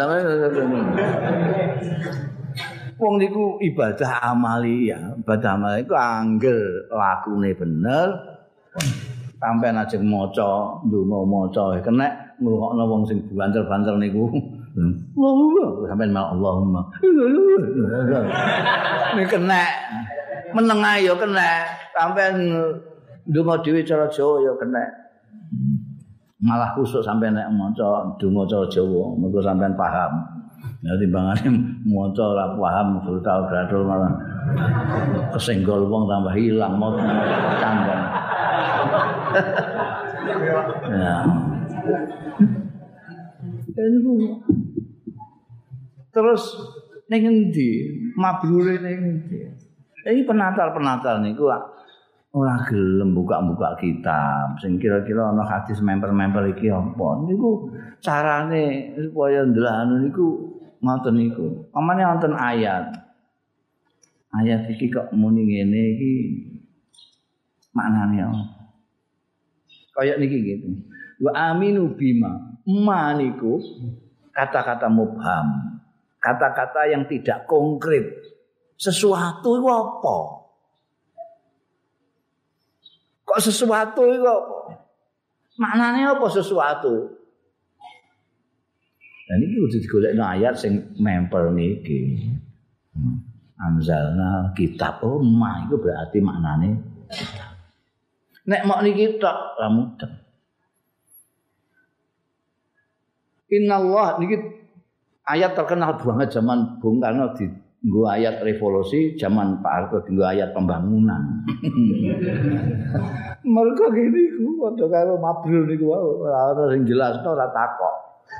wong niku ibadah amaliyah. Ibadah amaliyah iku angger lakune bener sampeyan ajeng maca ndonga maca kena ngrungokno wong sing banter-banter niku. Allahumma sampeyan Allahumma. Nek kena meneng ae ya kena sampeyan ndonga dhewe cara Jawa ya kena. Malah khusuk sampeyan nek maca ndonga cara Jawa mergo sampeyan paham. Ya timbangane maca ora paham brutal malah kesenggol wong tambah hilang mau canggung. Ya. Terus ning endi? Mabrure ning endi? Iki penatar-penatar niku ora gelem buka-buka kitab. Sing kira-kira ana hadis member-member iki apa? Niku carane supaya ndelok niku ngoten niku. Pamane wonten ayat. Ayat iki kok muni ngene iki maknane apa? Kayak niki gitu. Wa aminu bima. Ma niku kata-kata mubham. Kata-kata yang tidak konkret. Sesuatu itu apa? Kok sesuatu itu apa? Maknanya apa sesuatu? Dan ini kudu digolekno ayat sing mempel niki. Anzalna kitab. Oh, ma itu berarti maknane kitab. Nek mok niki tok ra mudeng. Innallah niki ayat terkenal banget zaman Bung Karno dienggo ayat revolusi, zaman Pak Harto dienggo ayat pembangunan. Mergo ngene iku padha karo mabrur niku ora ana sing jelasno ora takok.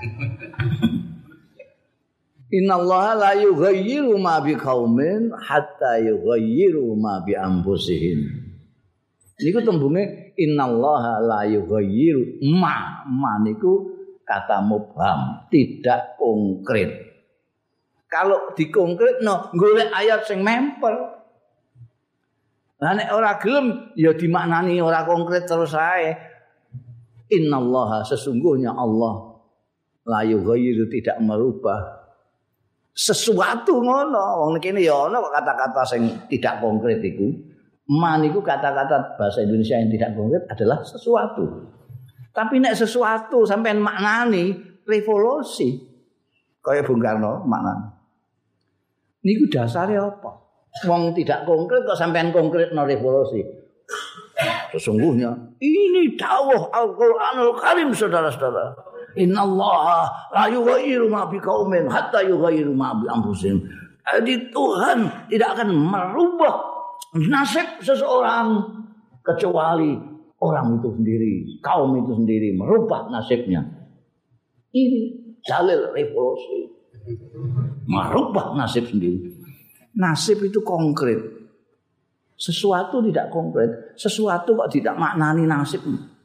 Innallaha la yughayyiru ma biqaumin hatta yughayyiru ma bi anfusihim. Niku tembunge innallaha la yughayyiru ma niku kata mubham, tidak konkret. Kalau dikonkretno golek ayat sing mempel. Lah nek ora gelem ya dimaknani ora konkret terus ae. Innallaha sesungguhnya Allah la yughayyiru tidak merubah sesuatu ngono. Wong kene ya ana kata-kata sing tidak konkret iku. Man itu kata-kata bahasa Indonesia yang tidak konkret adalah sesuatu. Tapi nek sesuatu sampean maknani revolusi. Kayak Bung Karno maknani. Niku dasarnya apa? Wong tidak konkret kok sampean konkret no revolusi. Sesungguhnya ini dawuh Al-Qur'anul Karim saudara-saudara. Innallaha la yughayyiru ma biqaumin hatta yughayyiru ma bi anfusihim. Jadi Tuhan tidak akan merubah nasib seseorang kecuali orang itu sendiri, kaum itu sendiri merubah nasibnya. Ini dalil revolusi. Merubah nasib sendiri. Nasib itu konkret. Sesuatu tidak konkret, sesuatu kok tidak maknani nasib.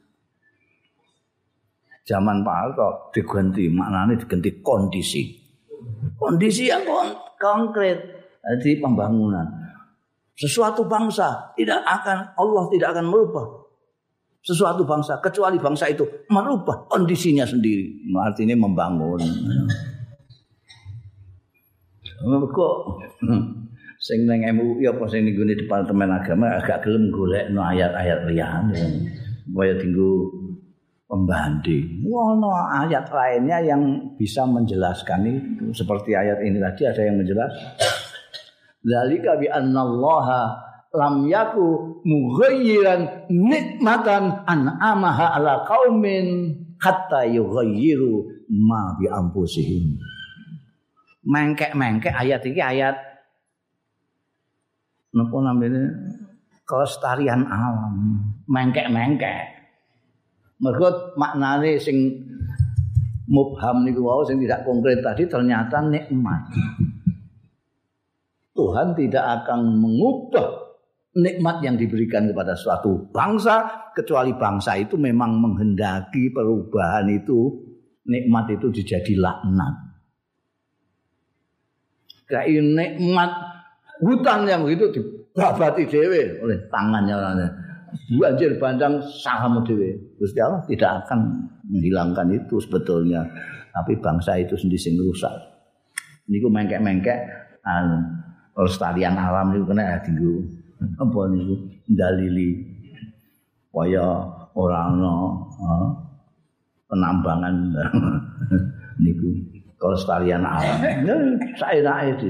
Zaman Pak Harto diganti maknanya diganti kondisi. Kondisi yang konkret, jadi pembangunan. Sesuatu bangsa Allah tidak akan merubah sesuatu bangsa kecuali bangsa itu merubah kondisinya sendiri. Artinya membangun. Kok sing nang MUI apa sing ning Departemen Agama agak gelem golekno ayat-ayat liyane. Supaya tinggu pembanding. Ono ayat lainnya yang bisa menjelaskan itu. Seperti ayat ini tadi ada yang menjelaskan. Dzalika bi annallaha lam yaku mughayyiran nikmatan an'amaha ala qaumin hatta yughayyiru ma bi anfusihim. Mengkek-mengkek ayat iki ayat napa namanya kelestarian alam. Mengkek-mengkek. Mergo maknane sing mubham niku wau sing tidak konkret tadi ternyata nikmat. Tuhan tidak akan mengubah nikmat yang diberikan kepada suatu bangsa kecuali bangsa itu memang menghendaki perubahan itu, nikmat itu jadi laknat. Kayak nikmat hutan yang begitu dibabati dhewe oleh tangannya orangnya. Banjir bandang sahamu dhewe. Gusti Allah tidak akan menghilangkan itu sebetulnya, tapi bangsa itu sendiri sing rusak. Niku mengkek-mengkek pelestarian alam niku kena dienggo apa niku dalili kaya ora ana penambangan niku kelestarian alam. Saenake iki.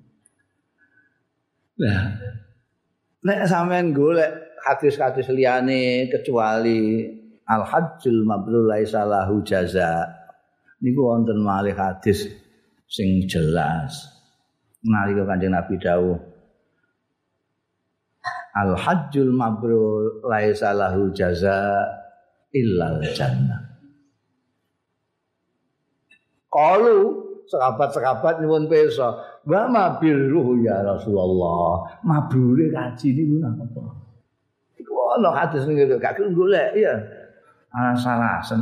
Nah, nek sampean golek hadis-hadis liyane kecuali al-hajjul mabrur laisa lahu jaza. Niku wonten malih hadis sing jelas. Nalika Kanjeng Nabi dawuh al-hajjul mabrur laisa lahu jaza illal jannah. Qalu sahabat-sahabat nyuwun pirsa, "Wa mabirruh ya Rasulullah." Mabrure kaji niku napa? Iku ana hadis niku gak golek ya. Alasan.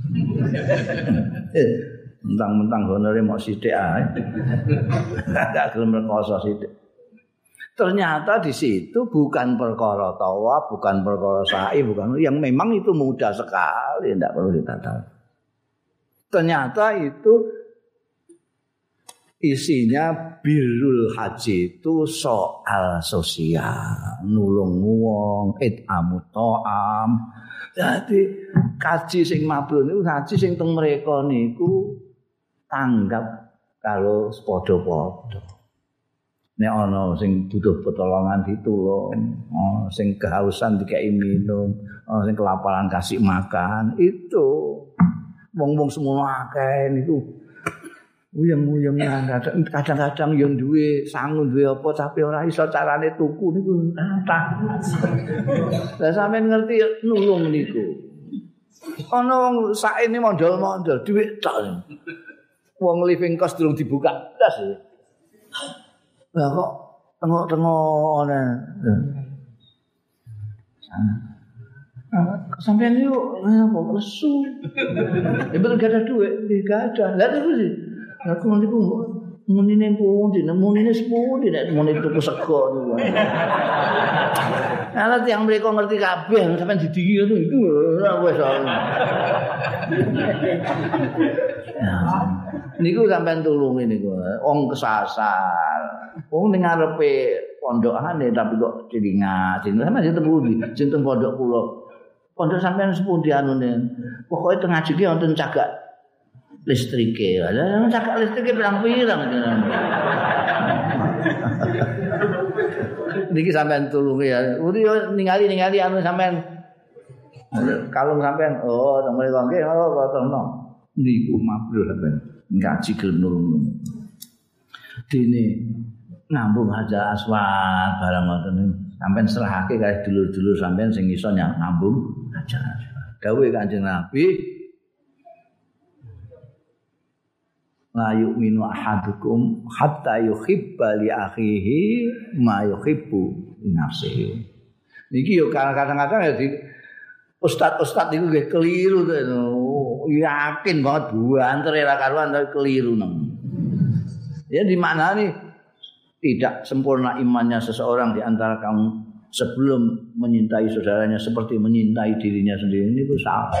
Mentang-mentang honore mok sithik ae. Gak gelem rekoso sithik. Ternyata di situ bukan perkara tawaf, bukan perkara sa'i, bukan yang memang itu mudah sekali, tidak perlu ditata. Ternyata itu isinya birrul haji itu soal sosial, nulung wong, it'amu ta'am. Jadi kaji sing mabrur niku kaji sing teng mreka niku tanggap kalau padha-padha. Nek ana sing butuh pertolongan ditulung, sing kehausan dikei minum, sing kelaparan kasih makan, itu wong-wong semono akeh niku uyang-uyang kadang-kadang yo duwe sangu duwe apa tapi ora iso carane tuku niku kathah. Lah sampean ngerti nulung niku. Ana wong saene mondol-mondol dhuwit tok. Wong living cost durung dibuka blas. Lah kok tengok-tengok ana. Sampean yo apa lesu. Ya betul gak ada duit, gak ada. Lah terus sih. Aku nanti munine pundi, munine sepundi nek munine tuku sego niku. Ala tiyang mriko ngerti kabeh sampean didiki ngono iku ora wis ana. Niku sampean tulungi niku. Wong kesasar. Wong ning ngarepe pondokane tapi kok cilingat. Sampeyan sing tempundi? Sing teng pondok kula. Pondok sampeyan sepundi anune? Pokoke teng ngaji ki wonten cagak listrike. Lah cagak listrike pirang-pirang. Niki sampean tulungi ya. Uri ningali anu sampean kalung sampean. Oh, teng mriko nggih, oh terno. Niku mabrur sampean. Ngaji gelem nulung. Dene ngambung Hajar Aswad barang ngoten sampean serahake kali dulur-dulur sampean sing iso ngambung Hajar Aswad. Dawuhe Kanjeng Nabi la yu'minu ahadukum hatta yuhibba li akhihi ma yuhibbu li nafsihi. Niki yo kadang-kadang ya di ustad-ustad niku nggih keliru to. Yakin banget banter ra karuan tapi keliru nang. Ya dimaknani tidak sempurna imannya seseorang di antara kamu sebelum menyintai saudaranya seperti menyintai dirinya sendiri ini salah.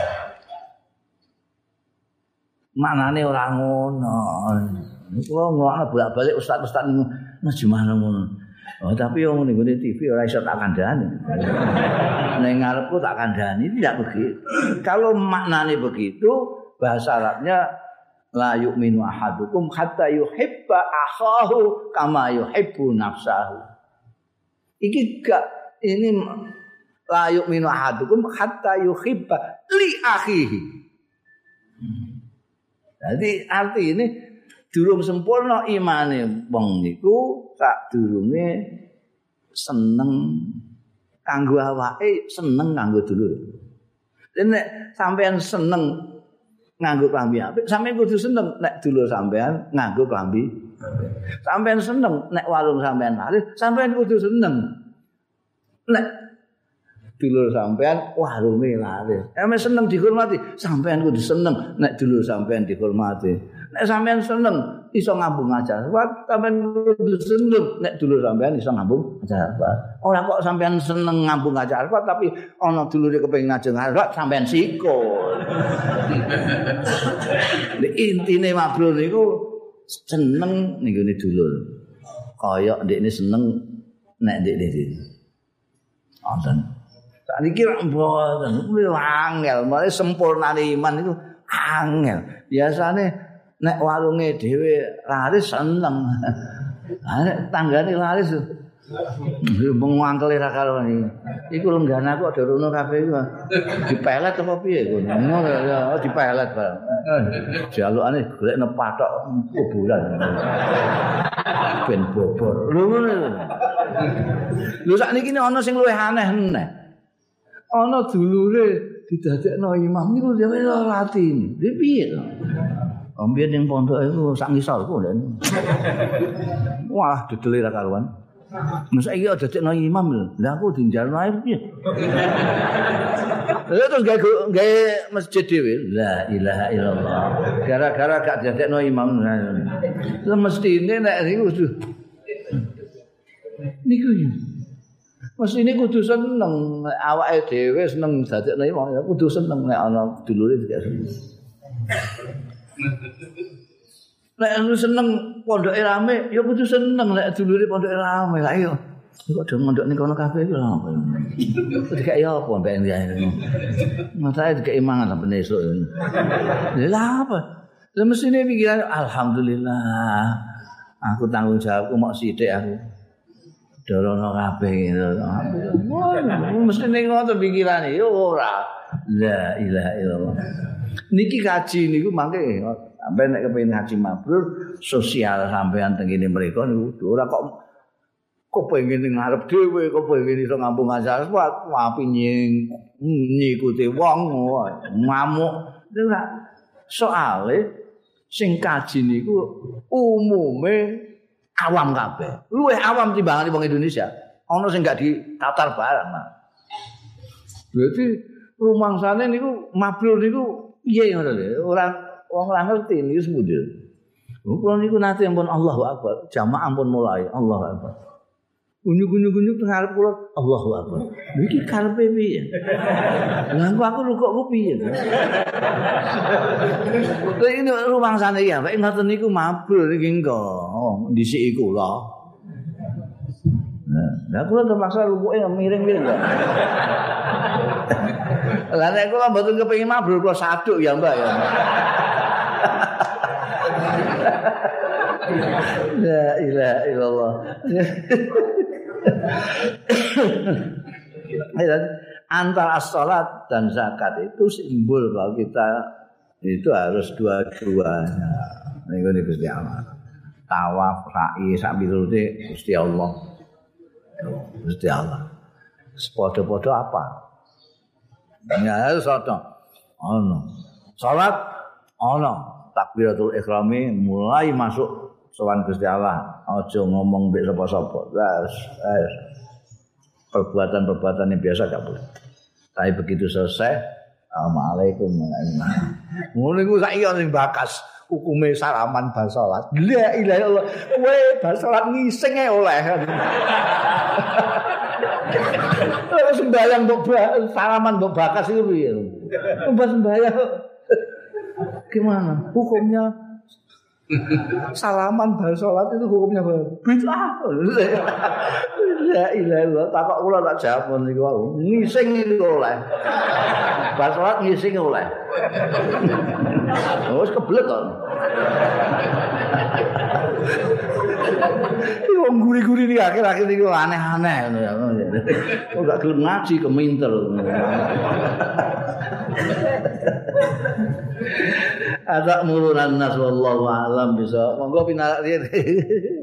Maknane ora ngono. Kula ngelakno bolak-balik ustaz-ustaz niku gimana ngono. Oh, tapi yang ngene TV ora iso tak kandhani. Ning ngarepku tak kandhani tidak begitu. Kalau maknane begitu, bahasa Arabnya la yu'minu ahadukum hatta yuhibba akhahu kama yuhibbu nafsahu. Iki gak ini la yu'minu ahadukum hatta yuhibba li akhihi. Jadi arti ini durung sempurna imane wong niku sak durunge seneng kanggo awake, seneng kanggo dulur. Nek sampean seneng nganggo klambi apik, sampean kudu seneng nek dulur sampean nganggo klambi apik. Sampean seneng nek warung sampean laris, sampean kudu seneng nek dulur sampean warunge laris. Sampeyan seneng dihormati, sampean kudu seneng nek dulur sampean dihormati. Nek sampean seneng iso ngambung Hajar Aswad, sampean kudu seneng nek dulur sampean iso ngambung Hajar Aswad. Ora kok sampean seneng ngambung Hajar Aswad tapi ana dulure kepengin ngajeng Hajar Aswad sampean sikul. Intine mabrur niku seneng ning gone dulur. Kaya ndekne seneng nek ndekne dhewe. Wonten sakniki rak mboten kuwi angel, mare sempurnane iman itu angel. Biasane nek warunge dhewe laris seneng. Nek tanggane laris mengangkel ra karo iki. Iku lengganaku ada rono kabeh iku. Dipelet apa piye ngono. Ngono dipelet barang. Jalukane golekne pathok kuburan. Ben bobor. Lho ngono. Lho sakniki ana sing luwih aneh meneh. Ana dulure didadekno imam niku dhewe ora ati. Lha piye to? Ambiyen ning pondok iku sak ngisorku lho. Wah, dedele ra karuan. Masa iki dadekno imam lho. Lah aku dinjalno ae piye? Lha terus gawe masjid dhewe. La ilaha illallah. Gara-gara gak dadekno imam. Lah mestine nek niku niku mestine kudu seneng awake dhewe seneng dadekno imam ya kudu seneng nek ana dulure juga seneng. Nek lu seneng pondoke rame ya kudu seneng nek dulure pondoke rame. Lah iya. Kok do mondok ning kono kabeh iku lha apa. Dikek ya apa mbek ngene. Masae dikek mangan sampe esuk. Lah apa? Lah mestine pikiran alhamdulillah. Aku tanggung jawabku mok sithik aku. Dorono kabeh gitu. Mesti ning ngono pikirane yo ora. La ilaha illallah. Niki kaji niku mangke sampeyan nek kepengin haji mabrur sosial sampeyan teng kene mriko niku ora kok kepengin ngarep dhewe, kepengin iso ngambung Hajar Aswad, api nyikuti wong ngamuk. Ora soale sing kaji niku umume awam kabeh. Luwih awam timbangane wong Indonesia. Ana sing gak ditatar barang, Mas. Berarti rumangsane niku mabrur niku piye ngono lho. Wong ora ngerti niku sepundi. Kula niku nate ampun Allahu Akbar, jamaah ampun mulai Allahu Akbar. Unyuk-unyuk teng arep kula Allahu Akbar. Iki karepe piye? Lah aku rukukku piye? Lha ini rumangsane ya, nek ngoten niku mabrur iki engko. Dhisiki kula. Lah kula terpaksa lukuke miring-miring kok. Lah nek kula mboten kepengin mabrur kula saduk ya, Mbak ya. La ilaha illallah. Antara salat dan zakat itu simbol bahwa kita itu harus dua-duanya. Niku Gusti Allah. Tawaf, sa'i, sak pirute Gusti Allah. Gusti Allah. Sepodo-podo apa? Ya soto. Ono. Salat ono. Takbiratul ihrami mulai masuk sowan Gusti Allah. Aja ngomong mbek sapa-sapa. Wes. Perbuatan-perbuatan yang biasa gak boleh. Tapi begitu selesai, Assalamualaikum. Ngono iku saiki ana sing bakas hukume salaman bar salat. La ilaha illallah. Kowe bar salat ngising ae oleh. Terus sembayang mbok salaman mbok bakas itu piye? Mbok sembayang. Gimana? Hukumnya salaman bar salat itu hukumnya bid'ah. La ilaha illallah. Takok kula tak jawab niku wae. Ngising itu oleh. Bar salat ngising oleh. Wis keblek kok. Wong guri-guri iki akhir-akhir iki aneh-aneh ngono ya. Kok gak gelem ngaji keminter. Ada murunan nas wallahu alam bisa. Monggo pinarak